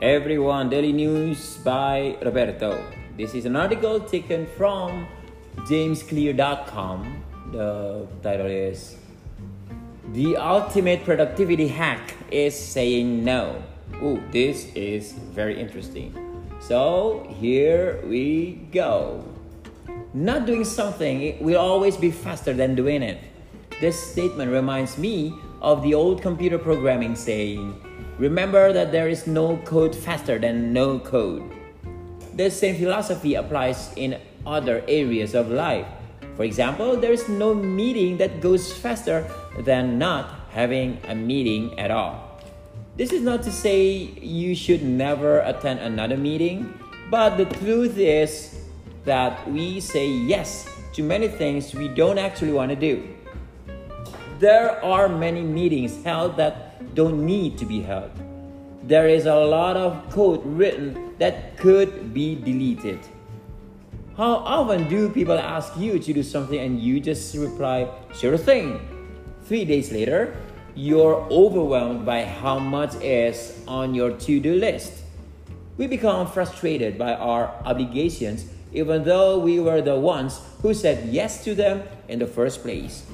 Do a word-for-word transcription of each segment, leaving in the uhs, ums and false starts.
everyone, Daily News by Roberto. This is an article taken from james clear dot com. The title is The Ultimate Productivity Hack is Saying No. Ooh, this is very interesting. So here we go. Not doing something will always be faster than doing it. This statement reminds me of the old computer programming saying, remember that there is no code faster than no code. The same philosophy applies in other areas of life. For example, there is no meeting that goes faster than not having a meeting at all. This is not to say you should never attend another meeting, but the truth is that we say yes to many things we don't actually want to do. There are many meetings held that don't need to be held. There is a lot of code written that could be deleted. How often do people ask you to do something and you just reply, sure thing? Three days later, you're overwhelmed by how much is on your to-do list. We become frustrated by our obligations even though we were the ones who said yes to them in the first place.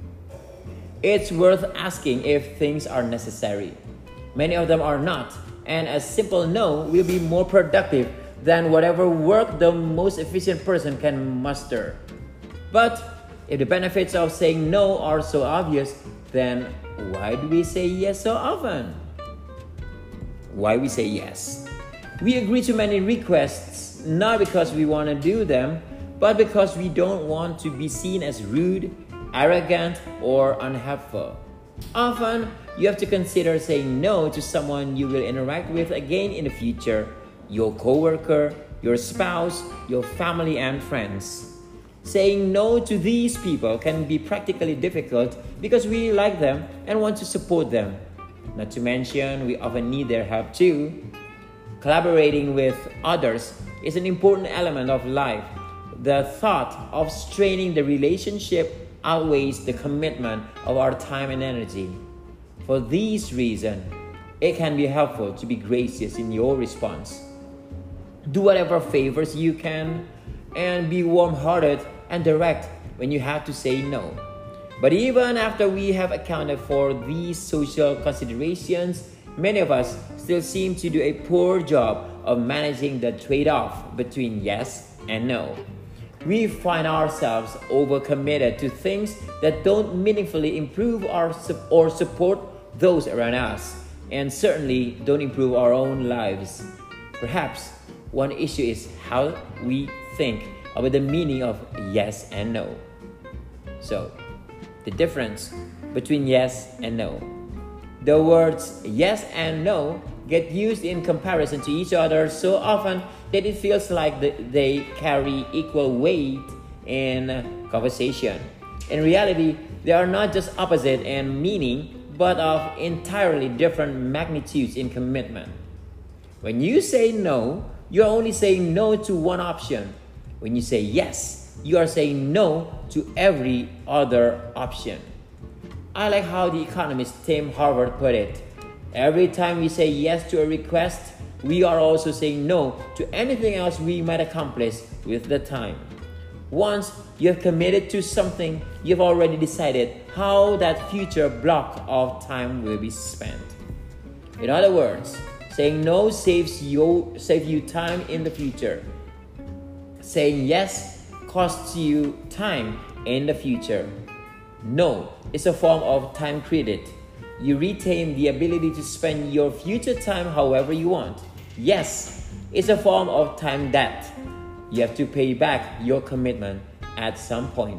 It's worth asking if things are necessary. Many of them are not, and a simple no will be more productive than whatever work the most efficient person can muster. But if the benefits of saying no are so obvious, then why do we say yes so often? Why we say yes? We agree to many requests not because we want to do them, but because we don't want to be seen as rude, arrogant, or unhelpful. Often, you have to consider saying no to someone you will interact with again in the future, your coworker, your spouse, your family, and friends. Saying no to these people can be practically difficult because we like them and want to support them. Not to mention, we often need their help too. Collaborating with others is an important element of life. The thought of straining the relationship outweighs the commitment of our time and energy. For these reasons, it can be helpful to be gracious in your response. Do whatever favors you can and be warm-hearted and direct when you have to say no. But even after we have accounted for these social considerations, many of us still seem to do a poor job of managing the trade-off between yes and no. We find ourselves overcommitted to things that don't meaningfully improve our or support those around us, and certainly don't improve our own lives. Perhaps one issue is how we think about the meaning of yes and no. So, the difference between yes and no. The words yes and no get used in comparison to each other so often that it feels like they carry equal weight in conversation. In reality, they are not just opposite in meaning, but of entirely different magnitudes in commitment. When you say no, you are only saying no to one option. When you say yes, you are saying no to every other option. I like how the economist Tim Harford put it. Every time we say yes to a request, we are also saying no to anything else we might accomplish with the time. Once you have committed to something, you've already decided how that future block of time will be spent. In other words, saying no saves you, saves you time in the future. Saying yes costs you time in the future. No is a form of time credit. You retain the ability to spend your future time however you want. Yes is a form of time debt. You have to pay back your commitment at some point.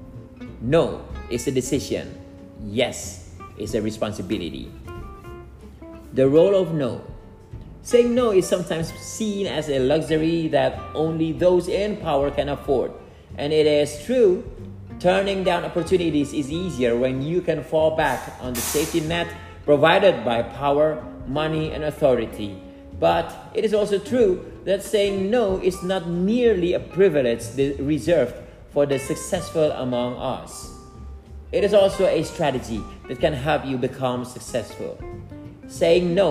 No is a decision. Yes is a responsibility. The role of no. Saying no is sometimes seen as a luxury that only those in power can afford. And it is true. Turning down opportunities is easier when you can fall back on the safety net provided by power, money, and authority. But it is also true that saying no is not merely a privilege reserved for the successful among us. It is also a strategy that can help you become successful. Saying no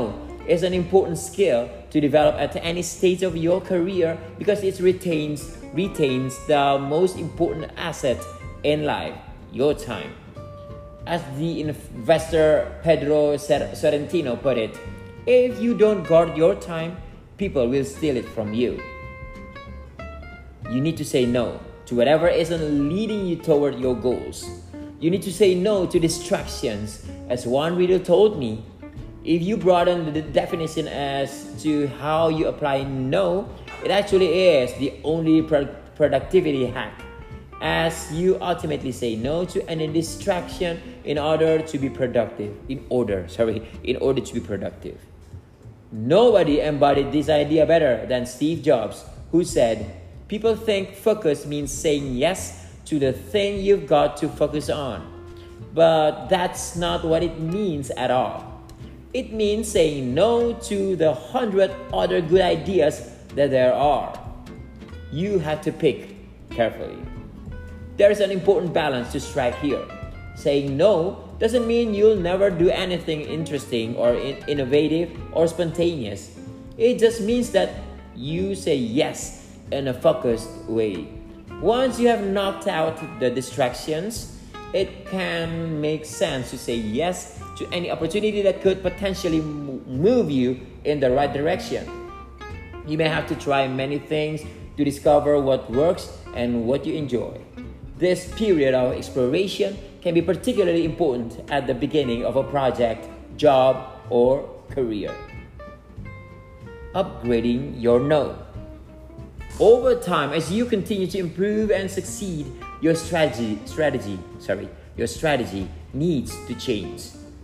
is an important skill to develop at any stage of your career because it retains retains the most important asset in life, your time. As the investor Pedro Sorrentino put it, if you don't guard your time, people will steal it from you. You need to say no to whatever isn't leading you toward your goals. You need to say no to distractions. As one reader told me, if you broaden the definition as to how you apply no, it actually is the only pro- productivity hack, as you ultimately say no to any distraction in order to be productive. In order, sorry, in order to be productive. Nobody embodied this idea better than Steve Jobs, who said, "People think focus means saying yes to the thing you've got to focus on. But that's not what it means at all. It means saying no to the hundred other good ideas that there are. You have to pick carefully." There is an important balance to strike here. Saying no doesn't mean you'll never do anything interesting or in- innovative or spontaneous. It just means that you say yes in a focused way. Once you have knocked out the distractions, it can make sense to say yes to any opportunity that could potentially move you in the right direction. You may have to try many things to discover what works and what you enjoy. This period of exploration can be particularly important at the beginning of a project, job, or career. Upgrading your no. Over time, as you continue to improve and succeed, your strategy, strategy, sorry, your strategy needs to change.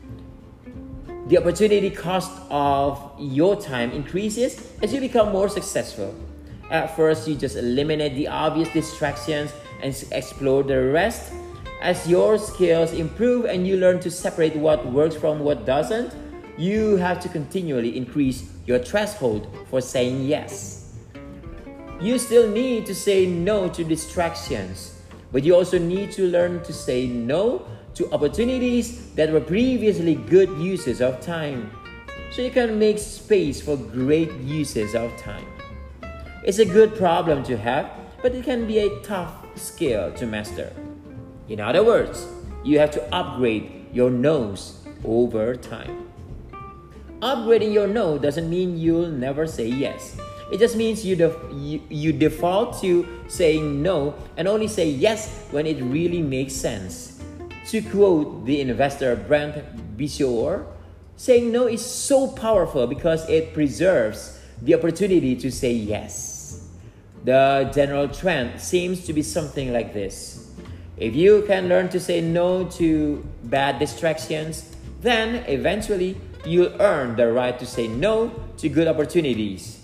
The opportunity cost of your time increases as you become more successful. At first, you just eliminate the obvious distractions and explore the rest. As your skills improve and you learn to separate what works from what doesn't, you have to continually increase your threshold for saying yes. You still need to say no to distractions, but you also need to learn to say no to opportunities that were previously good uses of time, so you can make space for great uses of time. It's a good problem to have, but it can be a tough skill to master. In other words, you have to upgrade your no's over time. Upgrading your no doesn't mean you'll never say yes. It just means you, def- you, you default to saying no and only say yes when it really makes sense. To quote the investor Brent Bishore, saying no is so powerful because it preserves the opportunity to say yes. The general trend seems to be something like this. If you can learn to say no to bad distractions, then eventually you'll earn the right to say no to good opportunities.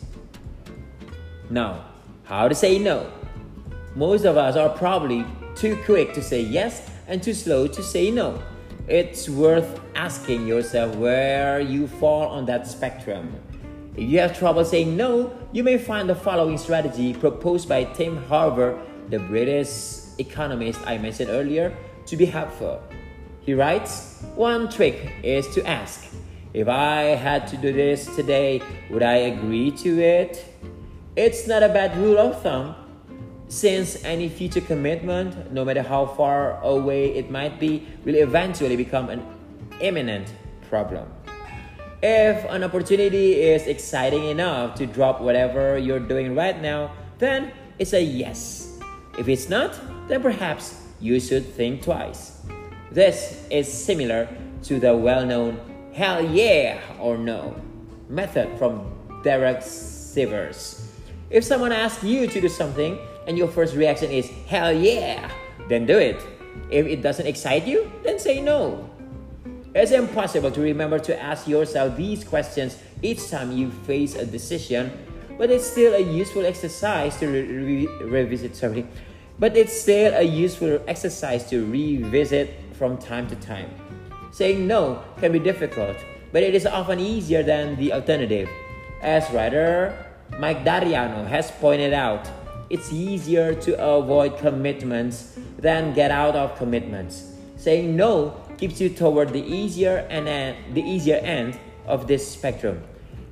Now, how to say no? Most of us are probably too quick to say yes and too slow to say no. It's worth asking yourself where you fall on that spectrum. If you have trouble saying no, you may find the following strategy proposed by Tim Harver, the British economist I mentioned earlier, to be helpful. He writes, "One trick is to ask, if I had to do this today, would I agree to it?" It's not a bad rule of thumb, since any future commitment, no matter how far away it might be, will eventually become an imminent problem. If an opportunity is exciting enough to drop whatever you're doing right now, then it's a yes. If it's not, then perhaps you should think twice. This is similar to the well-known hell yeah or no method from Derek Sivers. If someone asks you to do something and your first reaction is hell yeah, then do it. If it doesn't excite you, then say no. It's impossible to remember to ask yourself these questions each time you face a decision, but it's still a useful exercise to re- re- revisit. Sorry, but it's still a useful exercise to revisit from time to time. Saying no can be difficult, but it is often easier than the alternative. As writer Mike Dariano has pointed out, it's easier to avoid commitments than get out of commitments. Saying no keeps you toward the easier and uh, the easier end of this spectrum.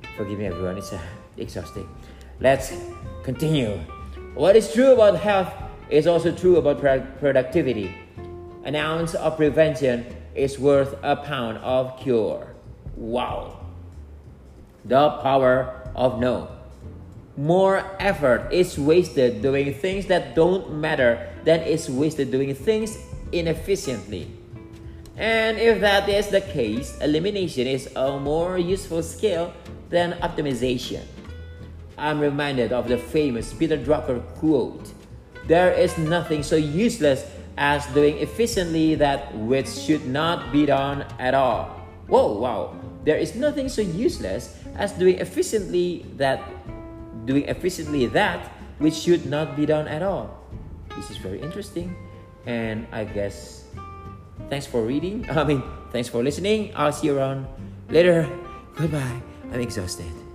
Forgive me, everyone. It's uh, exhausting. Let's continue. What is true about health is also true about pro- productivity. An ounce of prevention is worth a pound of cure. Wow. The power of no. More effort is wasted doing things that don't matter than is wasted doing things inefficiently. And if that is the case, elimination is a more useful skill than optimization. I'm reminded of the famous Peter Drucker quote, "There is nothing so useless as doing efficiently that which should not be done at all." Whoa, wow. There is nothing so useless as doing efficiently that doing efficiently that which should not be done at all. This is very interesting, and I guess thanks for reading. I mean, thanks for listening. I'll see you around later. Goodbye. I'm exhausted.